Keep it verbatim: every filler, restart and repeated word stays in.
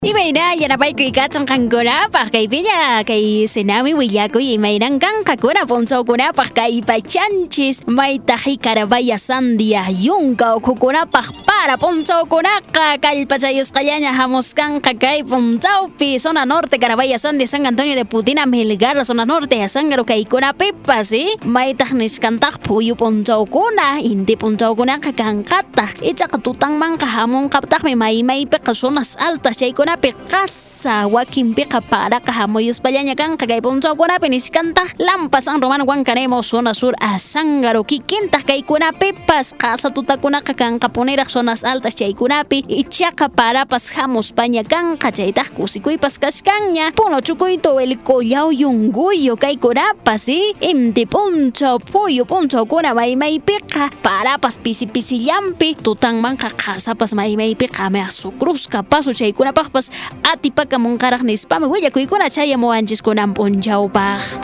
Imayna yanapaykuy kachon kankunapaq kay pilla kay sinami willakuy imayran kankakuna punchawkunapaq kay pachanchis maytaji karabaya sandia yunka ukhukunapaq para punchawkunaqa kallpachayusqallaña hamuskanqa kay punchawpi zona norte karabaya sandia San Antonio de Putina Melgar zona norte Sangaro kaykunapipas ¿sí? Maytaj nishkantaq phuyu punchawkuna inti punchawkunaqa kankataq ichaqa tutanmanqa hamunqaptaqmi maymaypiqa zonas altas chaykuna Pekasa wakin peka para kahamoyos payaña kan kagay punto kuna piniskanta lampas ang romano wan kanemo zona sur a Sangaro kikinta kay kuna pepas kasa tutakuna kakang kapunera zonas altas chay kunapi ichaka para pas hamos paña kan kachayta kusikuy pas kaskanya puno chukuy to el koyaw yunguyo kay kunapas si imti punto puyo punto kuna may may peka para pas pisi pisi yampi tutang man kakasa pas may may peka me asukrus kapaso chay kuna pas ati pagkamong karak ni spam, wala kuy ko na chaya mo anjis ko ng punjaw pa.